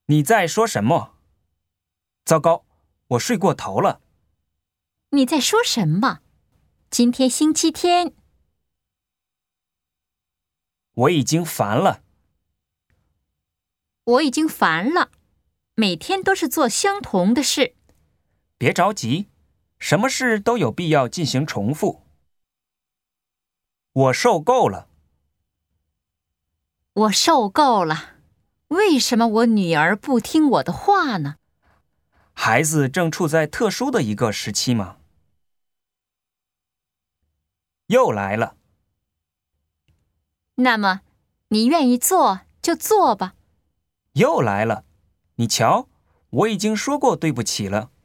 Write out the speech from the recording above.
你在说什么？糟糕，我睡过头了。 你在说什么？今天星期天。 我已经烦了。 我已经烦了，每天都是做相同的事。 别着急，什么事都有必要进行重复。我受够了。 我受够了。为什么我女儿不听我的话呢？ 孩子正处在特殊的一个时期吗？又来了。 那么，你愿意做就做吧。 又来了。你瞧，我已经说过对不起了。